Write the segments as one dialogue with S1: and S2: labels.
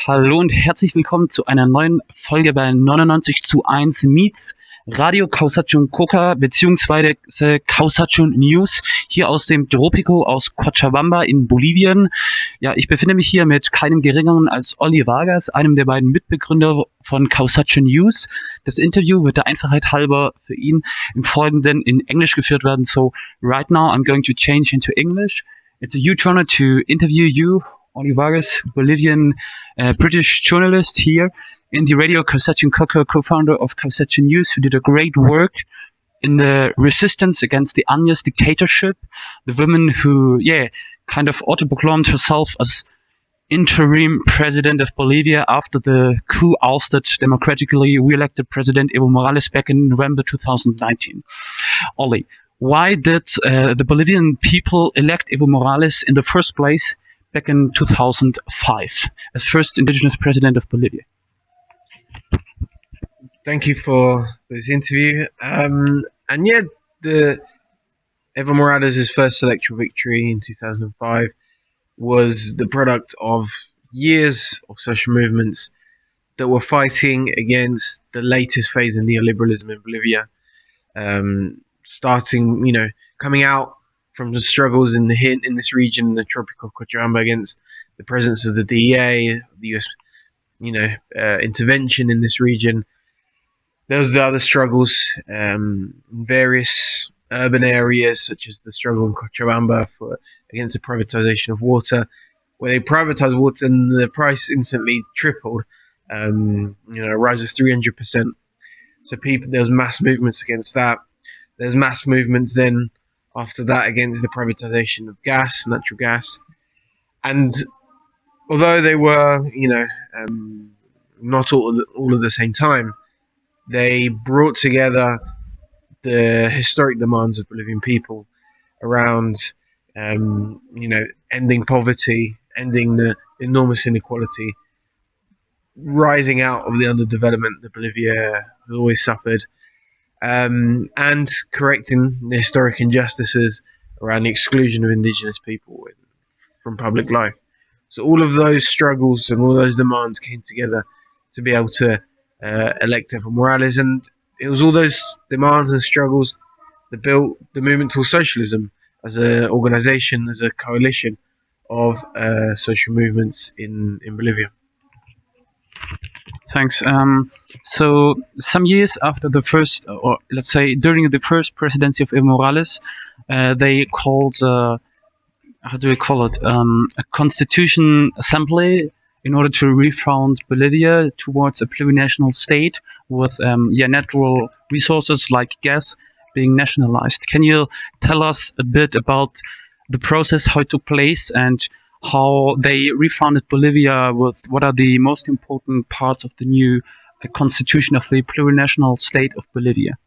S1: Hallo und herzlich willkommen zu einer neuen Folge bei 99:1 Meets Radio Causachun Coca beziehungsweise Causachun News hier aus dem Tropico aus Cochabamba in Bolivien. Ja, ich befinde mich hier mit keinem geringeren als Olli Vargas, einem der beiden Mitbegründer von Causachun News. Das Interview wird der Einfachheit halber für ihn im Folgenden in Englisch geführt werden. So right now I'm going to change into English. It's a huge honor to interview you, Olli Vargas, Bolivian British journalist here in the Radio Causachun Coca, co-founder of Causachun News, who did a great work in the resistance against the Añez dictatorship. The woman who, kind of autoproclaimed herself as interim president of Bolivia after the coup ousted democratically re-elected President Evo Morales back in November 2019. Olli, why did the Bolivian people elect Evo Morales in the first place back in 2005 as first indigenous president of Bolivia?
S2: Thank you for this interview. The Evo Morales' first electoral victory in 2005 was the product of years of social movements that were fighting against the latest phase of neoliberalism in Bolivia, coming out from the struggles in this region, the tropical Cochabamba, against the presence of the DEA, the US, intervention in this region. Those are the other struggles in various urban areas, such as the struggle in Cochabamba against the privatization of water, where they privatized water and the price instantly tripled, a rise of 300%. So there was mass movements against that. There's mass movements then after that against the privatization of natural gas. And although they were, not all at the same time, they brought together the historic demands of Bolivian people around, ending poverty, ending the enormous inequality, rising out of the underdevelopment that Bolivia has always suffered, and correcting the historic injustices around the exclusion of indigenous people from public life. So all of those struggles and all those demands came together to be able to elect Evo Morales, and it was all those demands and struggles that built the movement towards socialism as an organization, as a coalition of social movements in Bolivia.
S1: Thanks. So some years after the first, or let's say during the first presidency of Evo Morales, they called, a constitution assembly in order to refound Bolivia towards a plurinational state with natural resources like gas being nationalized. Can you tell us a bit about the process, how it took place, and how they refounded Bolivia with what are the most important parts of the new constitution of the plurinational state of Bolivia?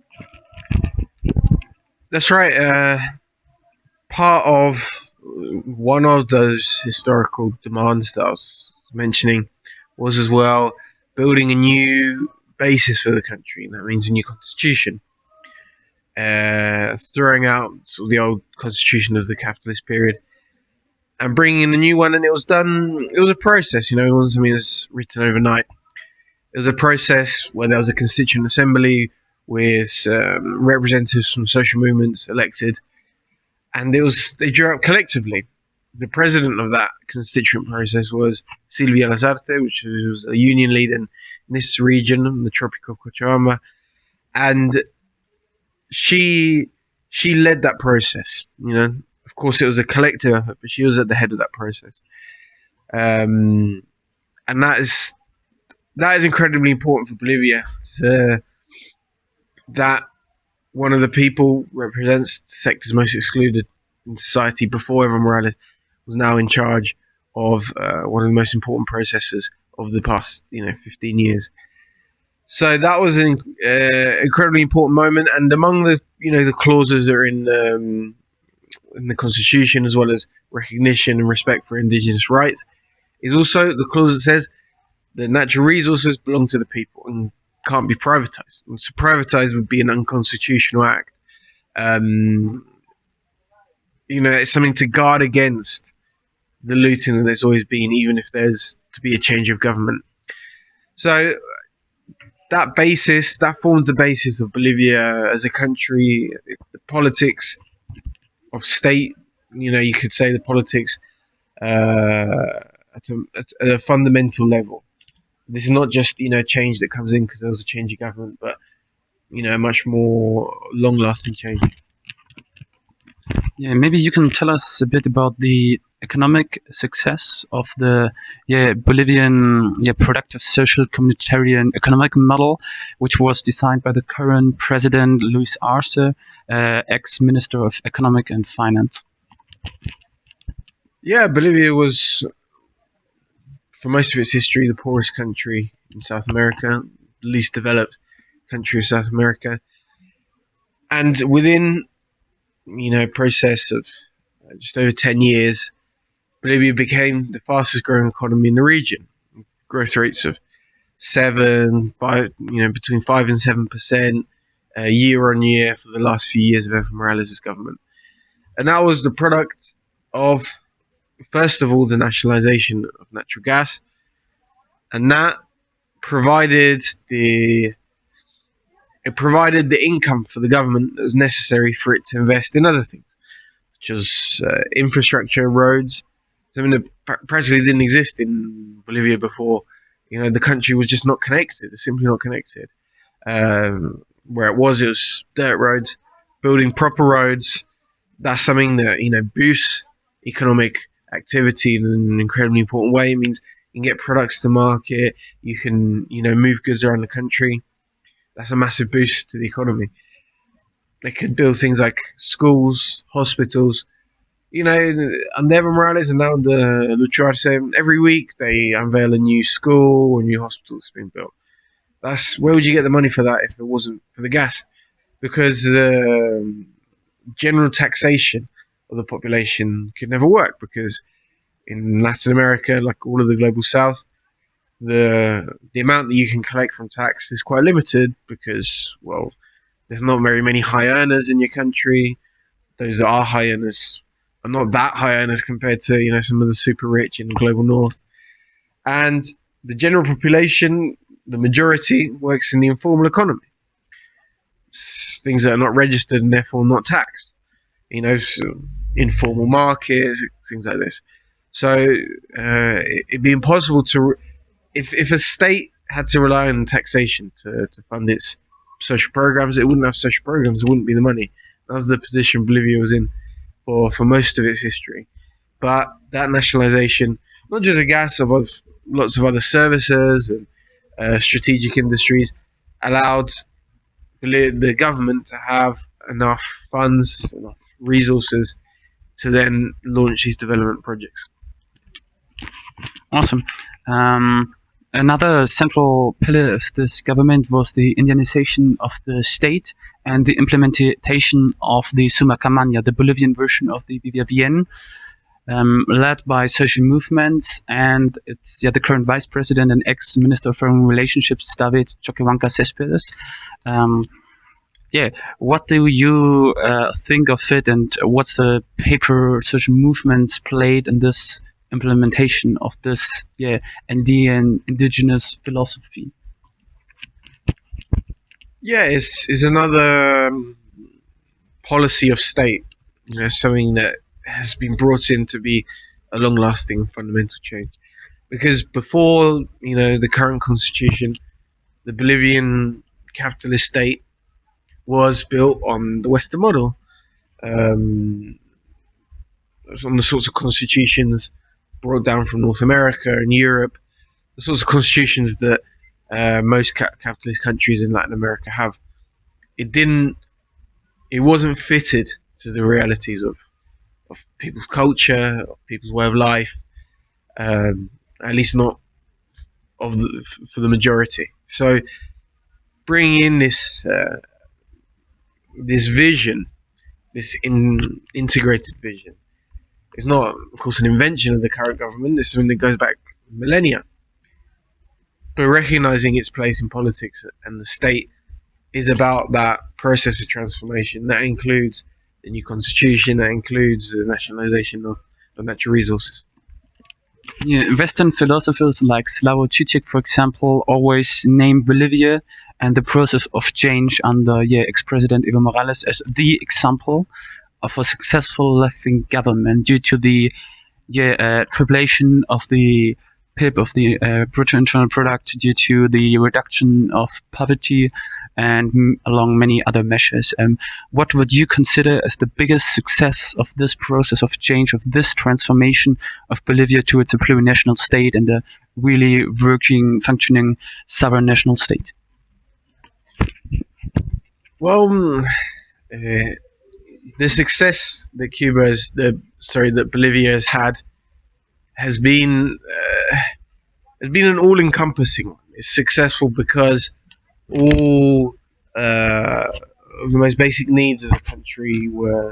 S2: That's right. Part of one of those historical demands that I was mentioning was as well building a new basis for the country, and that means a new constitution. Throwing out the old constitution of the capitalist period and bringing in a new one, and it was a process, it wasn't something that was written overnight. It was a process where there was a constituent assembly with representatives from social movements elected, and they drew up collectively. The president of that constituent process was Silvia Lazarte, which was a union leader in this region, the tropical Cochabamba, and she led that process. Of course, it was a collective effort, but she was at the head of that process, and that is incredibly important for Bolivia. That one of the people represents the sectors most excluded in society before Evo Morales was now in charge of one of the most important processes of the past 15 years. So that was an incredibly important moment, and among the the clauses that are in the constitution, as well as recognition and respect for indigenous rights, is also the clause that says that natural resources belong to the people and can't be privatized. And to privatize would be an unconstitutional act. It's something to guard against the looting that there's always been, even if there's to be a change of government. So that forms the basis of Bolivia as a country. The politics of state, you could say the politics at a fundamental level. This is not just change that comes in because there was a change of government, but a much more long-lasting change.
S1: Yeah, maybe you can tell us a bit about the economic success of the Bolivian productive social communitarian economic model, which was designed by the current president Luis Arce, ex-minister of economic and finance.
S2: Yeah, Bolivia was, for most of its history, the poorest country in South America, least developed country of South America, and within process of just over 10 years, Bolivia became the fastest growing economy in the region. Growth rates of between 5 and 7% year on year for the last few years of Evo Morales' government, and that was the product of, first of all, the nationalization of natural gas, and that provided the income for the government that was necessary for it to invest in other things, such as infrastructure, roads, something that practically didn't exist in Bolivia before. The country was just not connected. It's simply not connected. Where it was dirt roads. Building proper roads, that's something that boosts economic activity in an incredibly important way. It means you can get products to market. You can move goods around the country. That's a massive boost to the economy. They could build things like schools, hospitals. Under Evo Morales and now under Lucho Arce, every week they unveil a new school or a new hospital that's being built. Where would you get the money for that if it wasn't for the gas? Because the general taxation of the population could never work, because in Latin America, like all of the global south, the amount that you can collect from tax is quite limited because, well, there's not very many high earners in your country. Those that are high earners are not that high earners compared to some of the super rich in the global north. And the general population, the majority, works in the informal economy. Things that are not registered and therefore not taxed. So informal markets, things like this. So it'd be impossible to, if a state had to rely on taxation to fund its social programs, it wouldn't have social programs. There wouldn't be the money. That was the position Bolivia was in for most of its history. But that nationalization, not just of gas, of lots of other services and strategic industries, allowed the government to have enough funds, enough resources to then launch these development projects.
S1: Awesome. Another central pillar of this government was the Indianization of the state and the implementation of the Summa Camaña, the Bolivian version of the Viva Bien, led by social movements, and it's the current vice president and ex-minister of foreign relationships, David Choquehuanca Céspedes. What do you think of it, and what's the paper social movements played in this implementation of this indigenous philosophy?
S2: It's another policy of state, something that has been brought in to be a long-lasting fundamental change. Because before, the current constitution, the Bolivian capitalist state was built on the Western model, on the sorts of constitutions brought down from North America and Europe, the sorts of constitutions that most capitalist countries in Latin America have. It wasn't fitted to the realities of people's culture, of people's way of life, at least not for the majority. So bringing in this vision, this integrated vision, is not, of course, an invention of the current government. It's something that goes back millennia. But recognizing its place in politics and the state is about that process of transformation. That includes the new constitution, that includes the nationalization of natural resources.
S1: Yeah, Western philosophers like Slavoj Žižek, for example, always name Bolivia and the process of change under ex-president Evo Morales as the example of a successful left-wing government due to the tripling of the PIB, of the brutto internal product, due to the reduction of poverty, and along many other measures. What would you consider as the biggest success of this process of change, of this transformation of Bolivia towards a plurinational state and a really working, functioning sovereign national state?
S2: Well, the success that that Bolivia has had has been an all-encompassing one. It's successful because all of the most basic needs of the country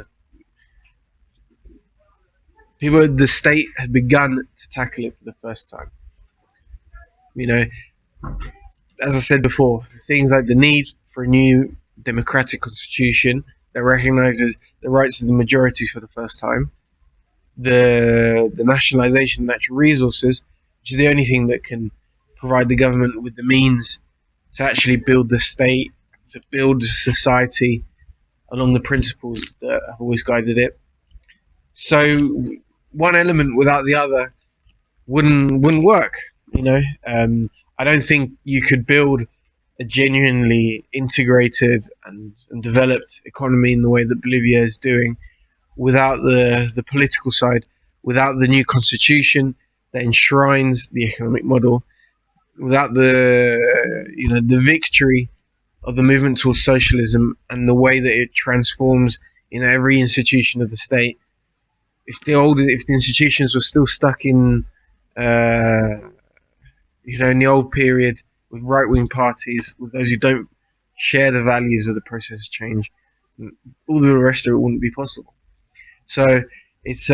S2: the state had begun to tackle it for the first time. You know, as I said before, things like the need for a new democratic constitution that recognizes the rights of the majority for the first time, the nationalization of natural resources, which is the only thing that can provide the government with the means to actually build the state, to build society along the principles that have always guided it. So one element without the other wouldn't work. I don't think you could build a genuinely integrated and developed economy in the way that Bolivia is doing without the political side, without the new constitution that enshrines the economic model, without the victory of the movement towards socialism and the way that it transforms every institution of the state. If the institutions were still stuck in in the old period with right-wing parties, with those who don't share the values of the process of change, all the rest of it wouldn't be possible. So it's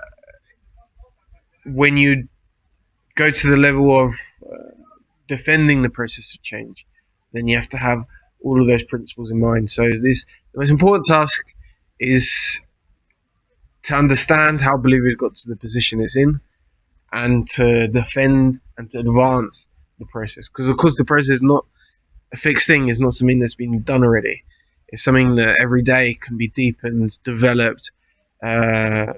S2: when you go to the level of defending the process of change, then you have to have all of those principles in mind. So the most important task is to understand how Bolivia has got to the position it's in, and to defend and to advance the process. Because of course the process is not a fixed thing, it's not something that's been done already. It's something that every day can be deepened, developed, to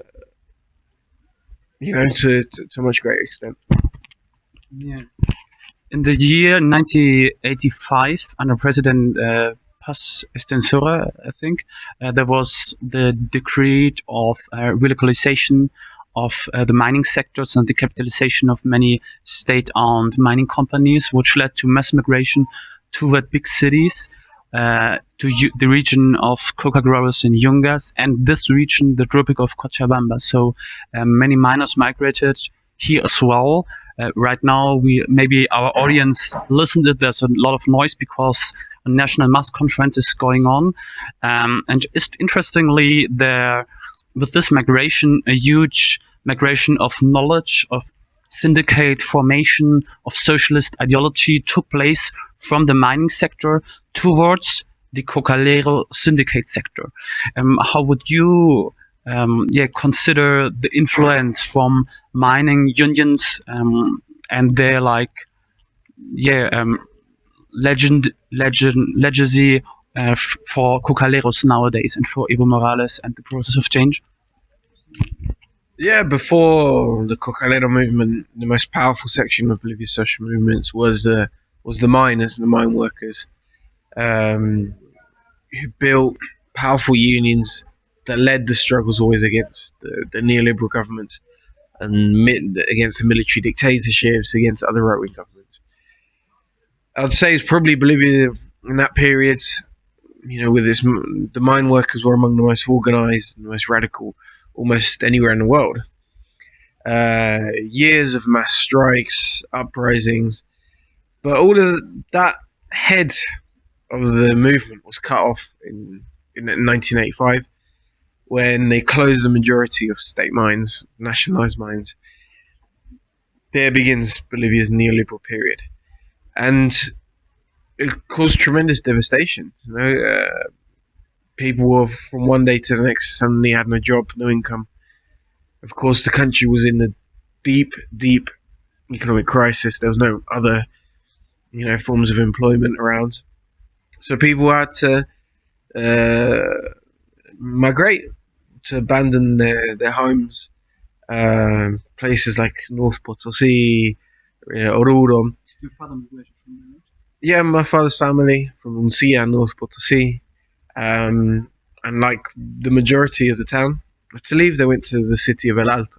S2: a much greater extent.
S1: Yeah. In the year 1985, under President Paz Estenssoro, I think, there was the decree of relocalization of the mining sectors and the capitalization of many state-owned mining companies, which led to mass migration toward big cities, to the region of coca growers in Yungas, and this region, the Tropic of Cochabamba. So many miners migrated here as well. Right now, maybe our audience listened to there's a lot of noise because a national mass conference is going on, and interestingly, with this migration, a huge migration of knowledge, of syndicate formation, of socialist ideology took place from the mining sector towards the Cocalero syndicate sector. How would you consider the influence from mining unions and their legacy for Cocaleros nowadays and for Evo Morales and the process of change?
S2: Yeah, before the Cocalero movement, the most powerful section of Bolivia's social movements was the miners and the mine workers, who built powerful unions that led the struggles always against the neoliberal governments and against the military dictatorships, against other right-wing governments. I'd say it's probably Bolivia in that period, with the mine workers were among the most organized and the most radical almost anywhere in the world. Years of mass strikes, uprisings, but all of that head of the movement was cut off in 1985 when they closed the majority of state mines, nationalized mines. There begins Bolivia's neoliberal period, and it caused tremendous devastation. People were, from one day to the next, suddenly had no job, no income. Of course, the country was in the deep, deep economic crisis. There was no other, forms of employment around, so people had to migrate, to abandon their homes. Places like North Potosi, Oruro.
S1: Your father migrated from there, right?
S2: Yeah, my father's family from Uncia, North Potosi. And like the majority of the town to leave, they went to the city of El Alto.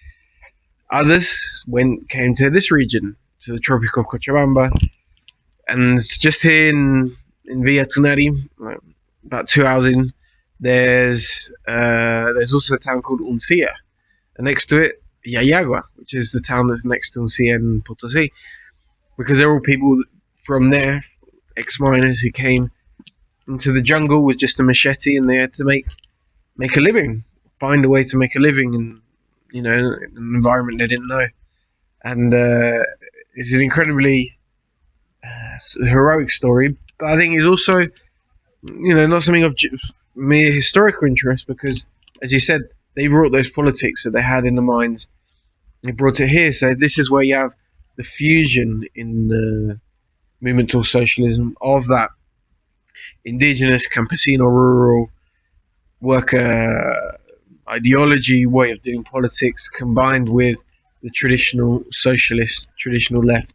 S2: Others came to this region, to the Tropic of Cochabamba, and just here in Villa Tunari, about 2 hours in, there's also a town called Uncia, and next to it, Yayagua, which is the town that's next to Uncia and Potosi, because they're all people from there, ex-miners who came into the jungle with just a machete, and they had to make a living, find a way to make a living in an environment they didn't know. And it's an incredibly heroic story, but I think it's also not something of mere historical interest, because, as you said, they brought those politics that they had in the mines, they brought it here. So this is where you have the fusion in the movement towards socialism of that indigenous, campesino, rural worker ideology, way of doing politics, combined with the traditional socialist, traditional left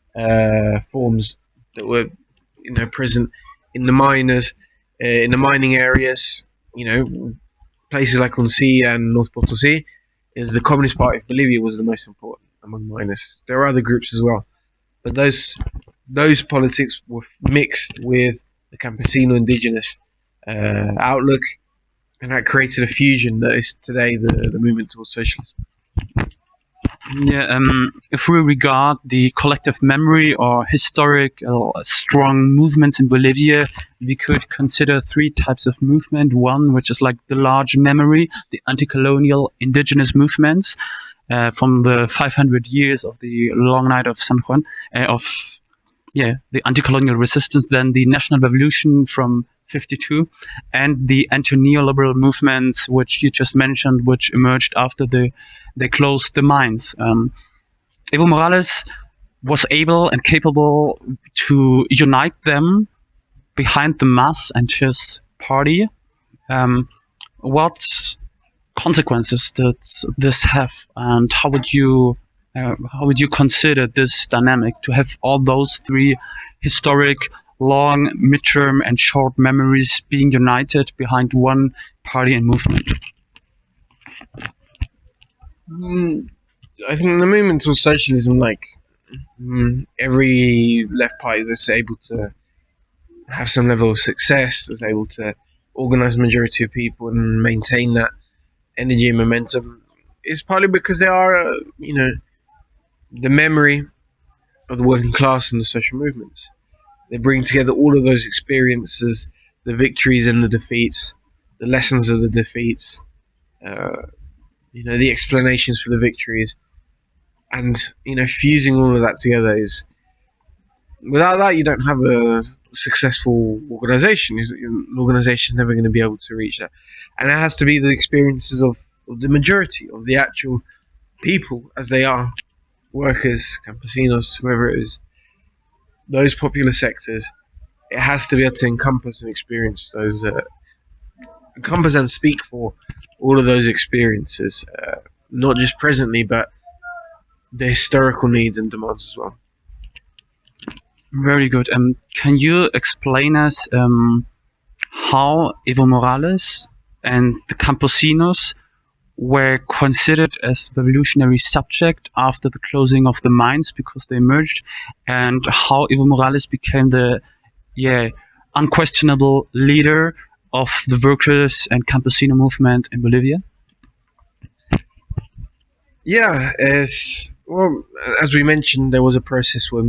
S2: forms that were present in the in the mining areas. Places like Uncia and North Potosi, is the Communist Party of Bolivia was the most important among miners. There are other groups as well, but those politics were mixed with the campesino indigenous outlook, and that created a fusion that is today the movement towards socialism.
S1: Yeah, if we regard the collective memory or historic strong movements in Bolivia, we could consider three types of movement. One, which is like the large memory, the anti-colonial indigenous movements from the 500 years of the Long Night of San Juan, the anti-colonial resistance, then the national revolution from 52, and the anti-neoliberal movements, which you just mentioned, which emerged after they closed the mines. Evo Morales was able and capable to unite them behind the mass and his party. What consequences does this have, and how would you consider this dynamic to have all those three historic, long, midterm, and short memories being united behind one party and movement?
S2: I think the movement towards socialism, every left party that's able to have some level of success, that's able to organize a majority of people and maintain that energy and momentum, is partly because they are, the memory of the working class and the social movements. They bring together all of those experiences, the victories and the defeats, the lessons of the defeats, the explanations for the victories, and fusing all of that together is. Without that, you don't have a successful organization. An organization is never going to be able to reach that, and it has to be the experiences of the majority of the actual people as they are, workers, campesinos, whoever it is, those popular sectors. It has to be able to encompass and experience those, encompass and speak for all of those experiences, not just presently, but the historical needs and demands as well.
S1: Very good. Can you explain us how Evo Morales and the campesinos were considered as revolutionary subject after the closing of the mines because they emerged, and how Evo Morales became the unquestionable leader of the workers and campesino movement in Bolivia?
S2: Yeah, as we mentioned, there was a process where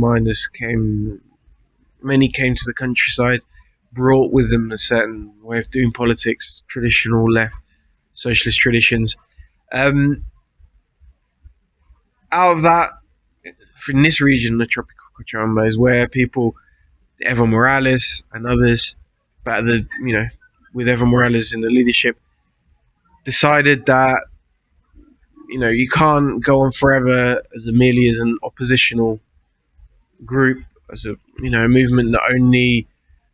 S2: many came to the countryside, brought with them a certain way of doing politics, traditional left socialist traditions. Out of that, in this region, the Tropic of Cochabamba, is where people, Evo Morales and others, but with Evo Morales in the leadership, decided that you can't go on forever as merely as an oppositional group, as a movement that only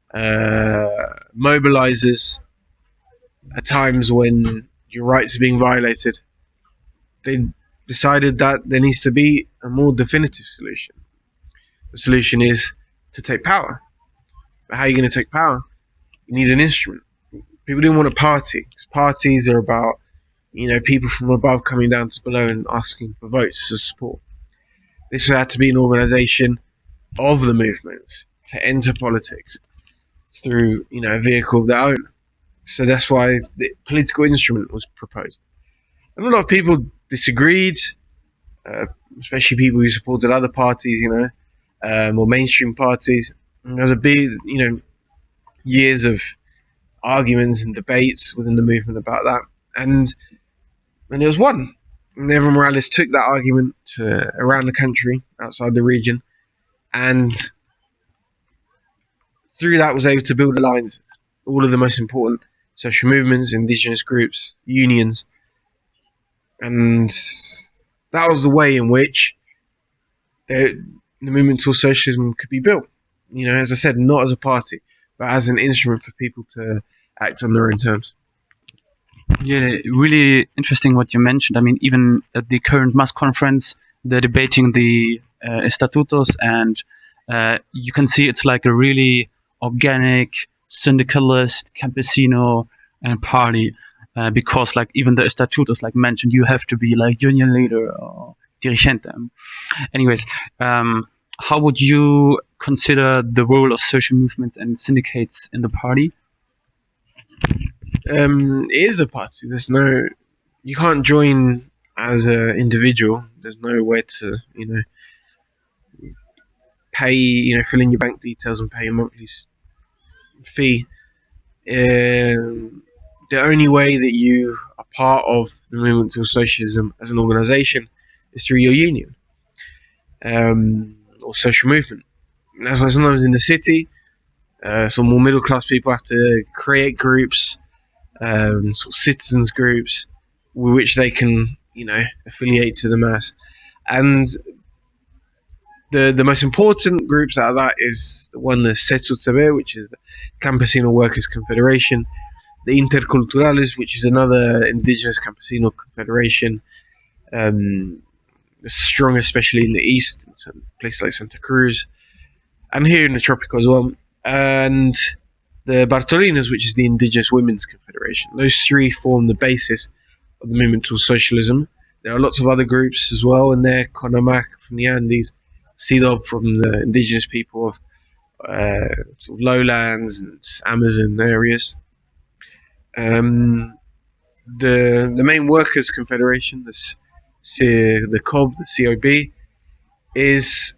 S2: mobilizes at times when your rights are being violated. They decided that there needs to be a more definitive solution. The solution is to take power. But how are you going to take power? You need an instrument. People didn't want a party, because parties are about people from above coming down to below and asking for votes as support. This had to be an organization of the movements to enter politics through a vehicle of their own. So that's why the political instrument was proposed. And a lot of people disagreed, especially people who supported other parties, or mainstream parties. And there was a big, years of arguments and debates within the movement about that. And it was won. And Evo Morales took that argument to around the country, outside the region, and through that was able to build alliances. All of the most important social movements, indigenous groups, unions, and that was the way in which the movement towards socialism could be built. As I said, not as a party, but as an instrument for people to act on their own terms.
S1: Yeah, really interesting what you mentioned. I mean, even at the current mass conference, they're debating the estatutos, and you can see it's like a really organic syndicalist campesino party, because like even the estatutos, like mentioned, you have to be like union leader or dirigente. Anyways, how would you consider the role of social movements and syndicates in the party?
S2: It is a party. You can't join as an individual. There's nowhere to, pay, fill in your bank details and pay a monthly fee. The only way that you are part of the movement towards socialism as an organization is through your union, or social movement. And that's why sometimes in the city, some more middle class people have to create groups, sort of citizens groups, with which they can, affiliate to the mass. And the most important groups out of that is the one, the CETUTB, which is the Campesino Workers Confederation, the Interculturales, which is another indigenous campesino confederation, strong especially in the east, in some places like Santa Cruz, and here in the tropical as well, and the Bartolinas, which is the Indigenous Women's Confederation. Those three form the basis of the movement towards socialism. There are lots of other groups as well in there: CONAMAC from the Andes, CIDOB from the indigenous people of sort of lowlands and Amazon areas. The main workers' confederation, the COB, the COB, is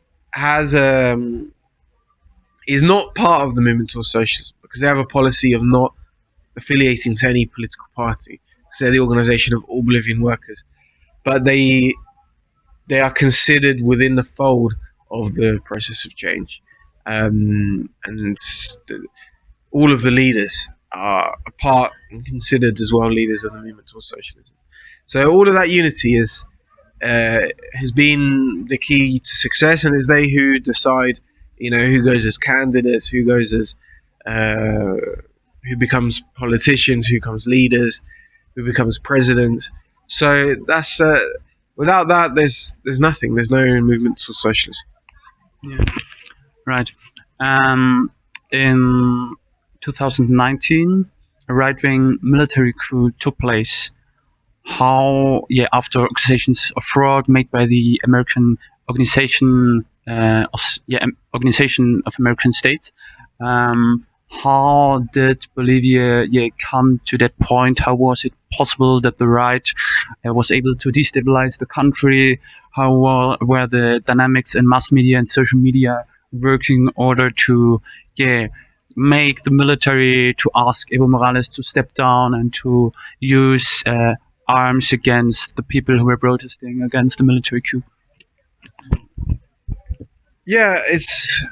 S2: not part of the movement towards socialism, because they have a policy of not affiliating to any political party, because they're the organization of all Bolivian workers. But they are considered within the fold of the process of change, and all of the leaders are a part and considered as well leaders of the movement towards socialism. So all of that unity has been the key to success, and it's they who decide, who goes as candidates, who goes as who becomes politicians, who becomes leaders, who becomes presidents. So that's without that, there's nothing. There's no movement towards socialism.
S1: Yeah, right. In 2019, a right-wing military coup took place. After accusations of fraud made by the American Organization of American States. How did Bolivia come to that point? How was it possible that the right was able to destabilize the country? How were the dynamics in mass media and social media working in order to make the military to ask Evo Morales to step down and to use arms against the people who were protesting against the military coup?
S2: Yeah, it's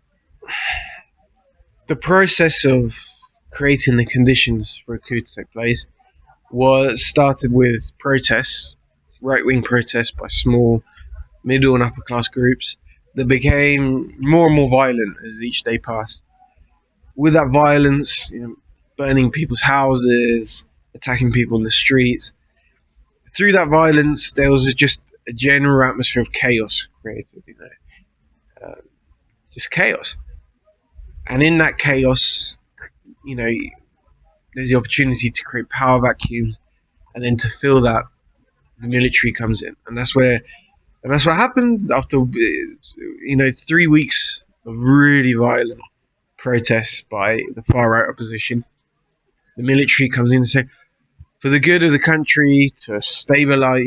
S2: the process of creating the conditions for a coup to take place was started with protests, right-wing protests by small, middle and upper-class groups that became more and more violent as each day passed. With that violence, burning people's houses, attacking people in the streets. Through that violence, there was just a general atmosphere of chaos created. Just chaos. And in that chaos, there's the opportunity to create power vacuums, and then to fill that, the military comes in, and that's what happened after 3 weeks of really violent protests by the far right opposition. The military comes in and say, for the good of the country, to stabilize,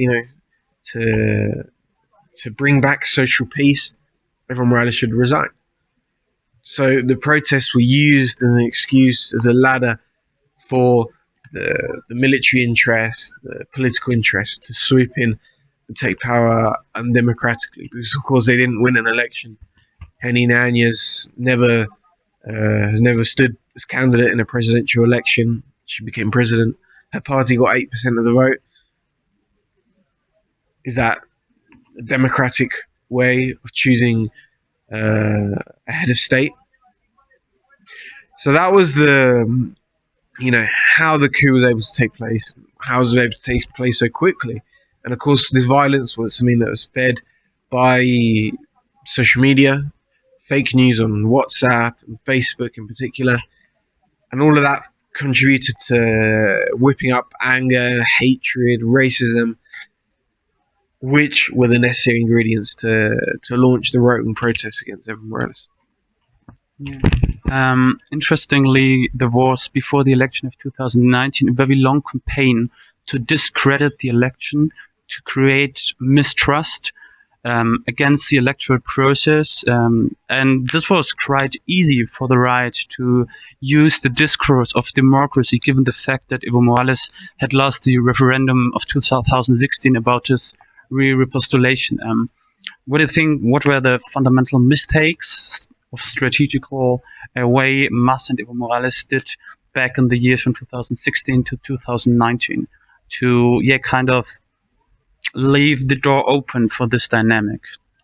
S2: to bring back social peace, Evo Morales should resign. So the protests were used as an excuse, as a ladder for the military interest, the political interest to swoop in and take power undemocratically, because of course they didn't win an election. Henny Nanez has never stood as candidate in a presidential election. She became president. Her party got 8% of the vote. Is that a democratic way of choosing a head of state? So that was how the coup was able to take place, how it was able to take place so quickly. And of course, this violence was something that was fed by social media, fake news on WhatsApp and Facebook in particular. And all of that contributed to whipping up anger, hatred, racism, which were the necessary ingredients to launch the right-wing protests against Evo Morales.
S1: Yeah. Interestingly, there was, before the election of 2019, a very long campaign to discredit the election, to create mistrust against the electoral process. And this was quite easy for the right to use the discourse of democracy, given the fact that Evo Morales had lost the referendum of 2016 about his re-repostulation. What do you think? What were the fundamental mistakes of strategical way Mas and Evo Morales did back in the years from 2016 to 2019 to kind of leave the door open for this dynamic?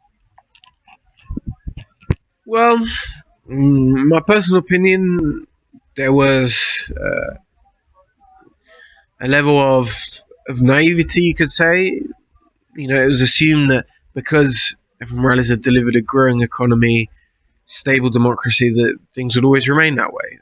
S2: Well, my personal opinion, there was a level of naivety, you could say. It was assumed that because Evo Morales had delivered a growing economy, stable democracy, that things would always remain that way.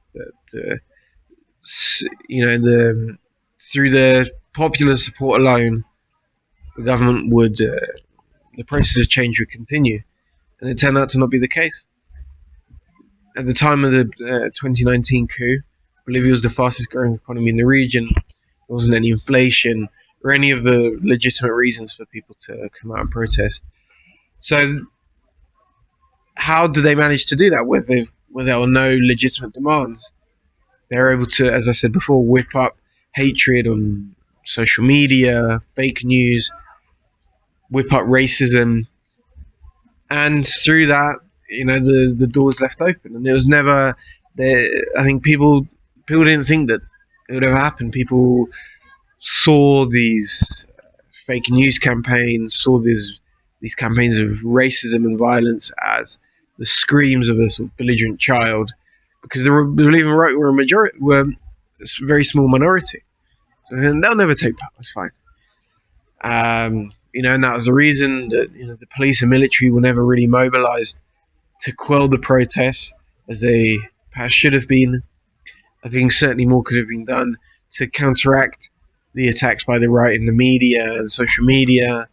S2: Through the popular support alone, the government would, the process of change would continue, and it turned out to not be the case. At the time of the 2019 coup, Bolivia was the fastest growing economy in the region. There wasn't any inflation or any of the legitimate reasons for people to come out and protest. So how did they manage to do that where there were no legitimate demands? They were able to, as I said before, whip up hatred on social media, fake news, whip up racism, and through that, the doors left open. And it was never there. I think people didn't think that it would ever happen. People saw these fake news campaigns, saw these campaigns of racism and violence as the screams of a sort of belligerent child, because the Bolivian right were a very small minority. So they'll never take power. It's fine. And that was the reason that the police and military were never really mobilized to quell the protests as they perhaps should have been. I think certainly more could have been done to counteract the attacks by the right in the media and social media.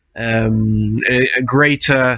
S2: A greater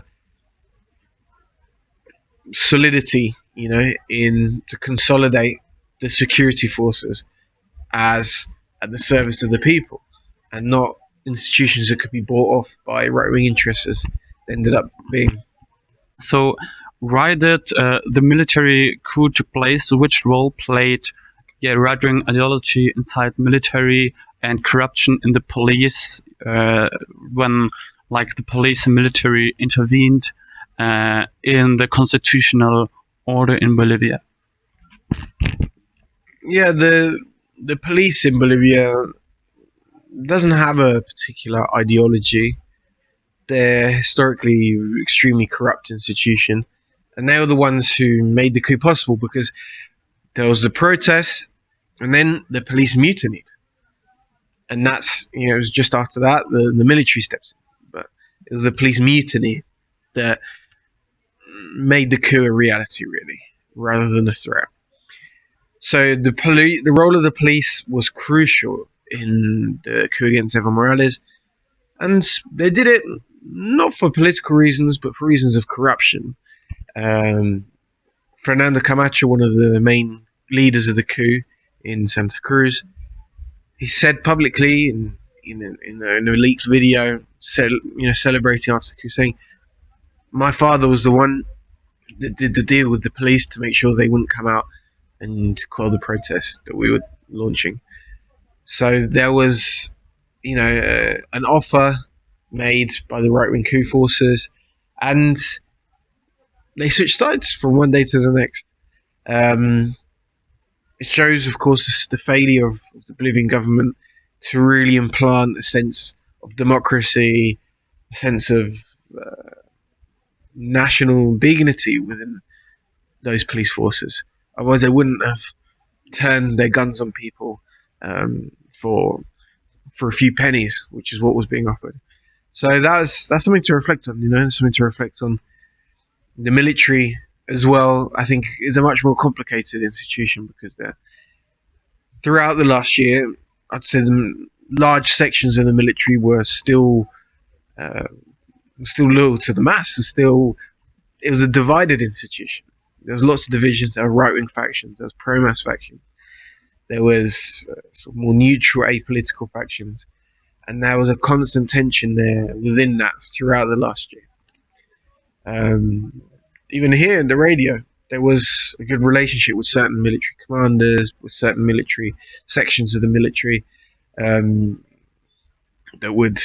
S2: solidity, to consolidate the security forces as at the service of the people, and not institutions that could be bought off by right-wing interests as they ended up being.
S1: So why did the military coup took place? Which role played right-wing ideology inside military and corruption in the police when the police and military intervened in the constitutional order in Bolivia?
S2: Yeah, the police in Bolivia doesn't have a particular ideology. They're historically extremely corrupt institution, and they were the ones who made the coup possible because there was the protest, and then the police mutinied, and that's it was just after that the military steps in, but it was the police mutiny that made the coup a reality, really, rather than a threat. So the role of the police was crucial in the coup against Evo Morales, and they did it not for political reasons, but for reasons of corruption. Fernando Camacho, one of the main leaders of the coup in Santa Cruz, he said publicly in a leaked video, celebrating after the coup, saying, "My father was the one that did the deal with the police to make sure they wouldn't come out and quell the protests that we were launching." So there was, an offer made by the right-wing coup forces, and they switched sides from one day to the next. It shows, of course, the failure of the Bolivian government to really implant a sense of democracy, a sense of national dignity within those police forces. Otherwise, they wouldn't have turned their guns on people for a few pennies, which is what was being offered. So that's something to reflect on. Something to reflect on. The military as well, I think, is a much more complicated institution because throughout the last year, I'd say large sections of the military were still loyal to the mass. It was a divided institution. There was lots of divisions. There were right-wing factions. There was pro-mass factions. There was sort of more neutral, apolitical factions, and there was a constant tension there within that throughout the last year. Even here in the radio, there was a good relationship with certain military commanders, with certain military sections of the military that would,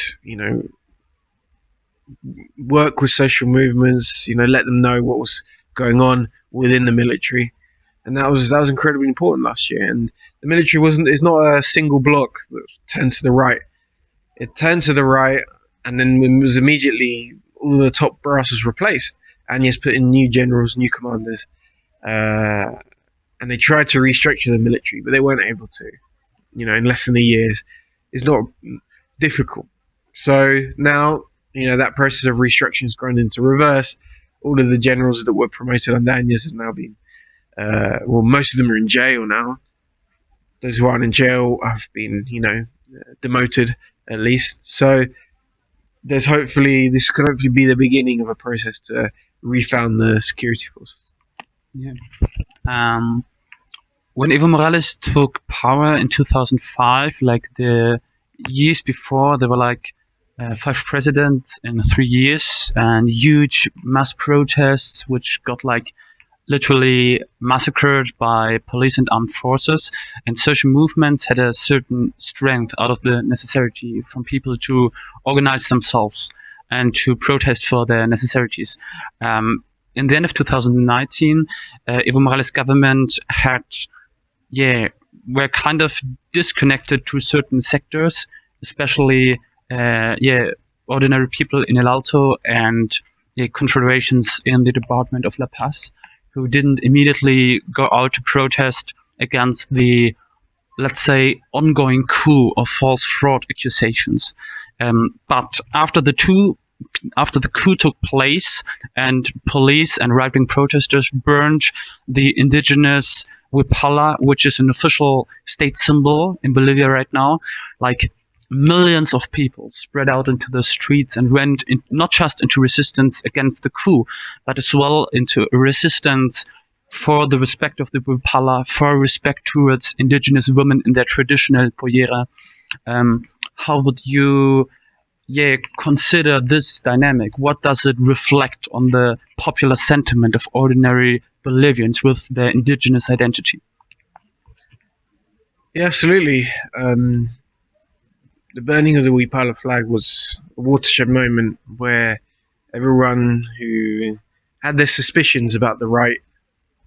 S2: work with social movements, let them know what was going on within the military, and that was incredibly important last year. And the military is not a single block that turned to the right. It turned to the right, and then it was immediately all the top brass was replaced. Agnes put in new generals, new commanders, and they tried to restructure the military, but they weren't able to. In less than a year, it's not difficult. So now, that process of restructuring has gone into reverse. All of the generals that were promoted under Agnes have now been, most of them are in jail now. Those who aren't in jail have been, demoted at least. So this could hopefully be the beginning of a process to refound the security forces.
S1: Yeah. When Evo Morales took power in 2005, like the years before, there were 5 presidents in 3 years, and huge mass protests, which got literally massacred by police and armed forces. And social movements had a certain strength out of the necessity from people to organize themselves and to protest for their necessities. In the end of 2019, Evo Morales' government were kind of disconnected to certain sectors, especially ordinary people in El Alto and confederations in the Department of La Paz, who didn't immediately go out to protest against the, let's say, ongoing coup of false fraud accusations. But after the coup took place and police and right-wing protesters burned the indigenous huipala, which is an official state symbol in Bolivia right now, millions of people spread out into the streets and went not just into resistance against the coup, but as well into resistance for the respect of the huipala, for respect towards indigenous women in their traditional pollera. How would you consider this dynamic? What does it reflect on the popular sentiment of ordinary Bolivians with their indigenous identity?
S2: Yeah, absolutely. The burning of the huipala flag was a watershed moment where everyone who had their suspicions about the right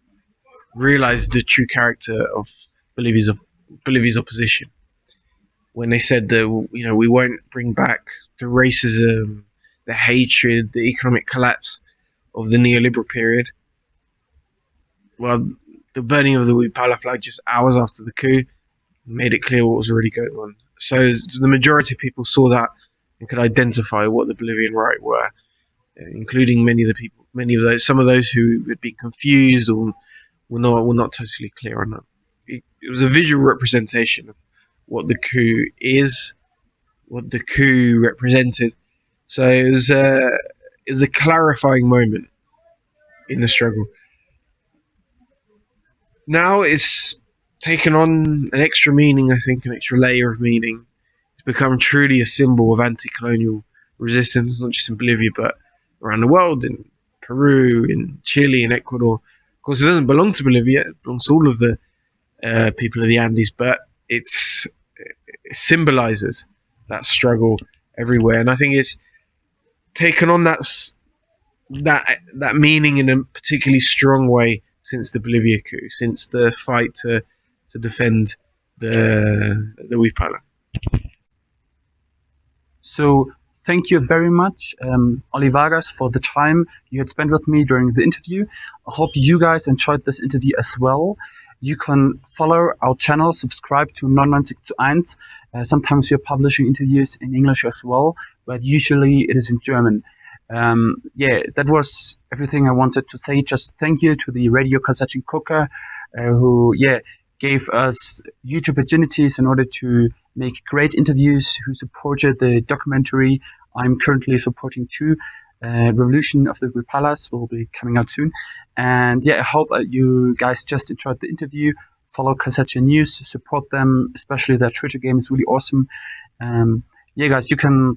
S2: realized the true character of Bolivia's opposition. when they said that, you know, we won't bring back the racism, the hatred, the economic collapse of the neoliberal period. Well, the burning of the Wipala flag just hours after the coup made it clear what was already going on. So the majority of people saw that and could identify what the Bolivian right were, including some of those who had been confused or were not totally clear on that. It was a visual representation of what the coup is, what the coup represented. So it was a clarifying moment in the struggle. Now it's taken on an extra meaning, I think, an extra layer of meaning. It's become truly a symbol of anti-colonial resistance, not just in Bolivia, but around the world, in Peru, in Chile, in Ecuador. Of course, it doesn't belong to Bolivia. It belongs to all of the people of the Andes, but it symbolizes that struggle everywhere. And I think it's taken on that meaning in a particularly strong way since the Bolivia coup, since the fight to defend the Wipala.
S1: So thank you very much, Olivagas, for the time you had spent with me during the interview. I hope you guys enjoyed this interview as well. You can follow our channel, subscribe to 990 sometimes we're publishing interviews in English as well, but usually it is in German. That was everything I wanted to say. Just thank you to the Radio Kausachin Koka, who gave us huge opportunities in order to make great interviews, who supported the documentary I'm currently supporting too. Revolution of the Wipalas will be coming out soon. And I hope you guys just enjoyed the interview. Follow Kausachin News, support them, especially their Twitter game is really awesome. Guys, you can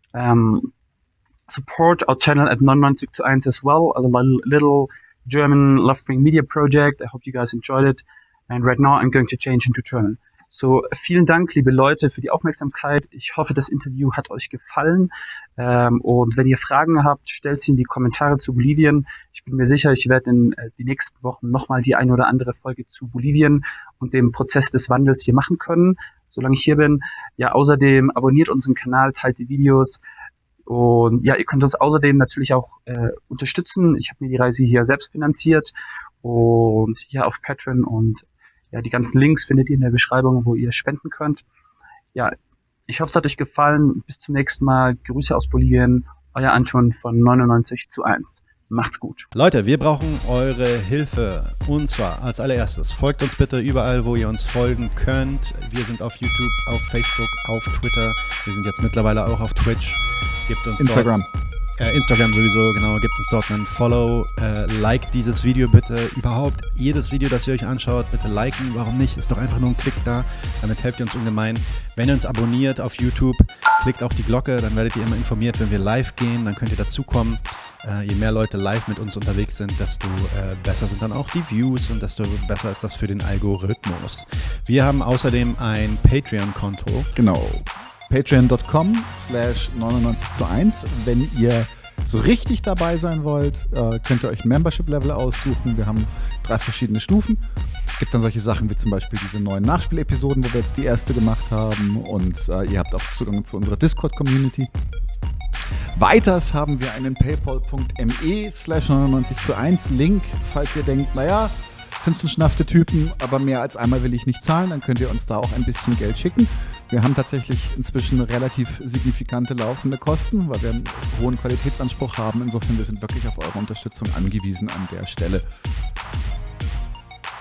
S1: support our channel at 990 as well, a little German left-wing media project. I hope you guys enjoyed it. And right now I'm going to change into German. So, vielen Dank, liebe Leute, für die Aufmerksamkeit. Ich hoffe, das Interview hat euch gefallen. Und wenn ihr Fragen habt, stellt sie in die Kommentare zu Bolivien. Ich bin mir sicher, ich werde in die nächsten Wochen nochmal die eine oder andere Folge zu Bolivien und dem Prozess des Wandels hier machen können, solange ich hier bin. Ja, außerdem abonniert unseren Kanal, teilt die Videos. Und ihr könnt uns außerdem natürlich auch unterstützen. Ich habe mir die Reise hier selbst finanziert und auf Patreon und die ganzen Links findet ihr in der Beschreibung, wo ihr spenden könnt. Ja, ich hoffe, es hat euch gefallen. Bis zum nächsten Mal. Grüße aus Bolivien. Euer Anton von 990. Macht's gut.
S3: Leute, wir brauchen eure Hilfe. Und zwar als allererstes, folgt uns bitte überall, wo ihr uns folgen könnt. Wir sind auf YouTube, auf Facebook, auf Twitter. Wir sind jetzt mittlerweile auch auf Twitch. Gebt uns
S4: Instagram.
S3: Instagram sowieso, genau. Gebt uns dort einen Follow. Liked dieses Video bitte. Überhaupt jedes Video, das ihr euch anschaut, bitte liken. Warum nicht? Ist doch einfach nur ein Klick da. Damit helft ihr uns ungemein. Wenn ihr uns abonniert auf YouTube, klickt auch die Glocke. Dann werdet ihr immer informiert, wenn wir live gehen. Dann könnt ihr dazukommen. Je mehr Leute live mit uns unterwegs sind, desto besser sind dann auch die Views und desto besser ist das für den Algorithmus. Wir haben außerdem ein Patreon-Konto.
S4: Genau. Patreon.com/99:1. Wenn ihr so richtig dabei sein wollt, könnt ihr euch ein Membership-Level aussuchen. Wir haben 3 verschiedene Stufen. Es gibt dann solche Sachen wie zum Beispiel diese neuen Nachspielepisoden, wo wir jetzt die erste gemacht haben. Und ihr habt auch Zugang zu unserer Discord-Community. Weiters haben wir einen paypal.me/99:1 Link. Falls ihr denkt, naja, sind schon schnaffte Typen, aber mehr als einmal will ich nicht zahlen, dann könnt ihr uns da auch ein bisschen Geld schicken. Wir haben tatsächlich inzwischen relativ signifikante laufende Kosten, weil wir einen hohen Qualitätsanspruch haben. Insofern, wir sind wirklich auf eure Unterstützung angewiesen an der Stelle.